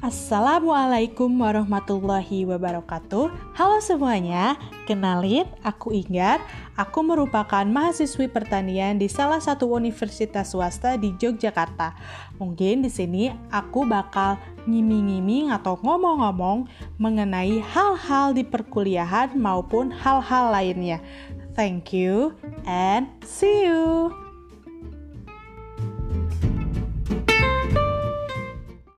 Assalamualaikum warahmatullahi wabarakatuh. Halo semuanya, kenalin aku Ingar. Aku merupakan mahasiswi pertanian di salah satu universitas swasta di Yogyakarta. Mungkin di sini aku bakal ngiming-ngiming atau ngomong-ngomong mengenai hal-hal di perkuliahan maupun hal-hal lainnya. Thank you and see you.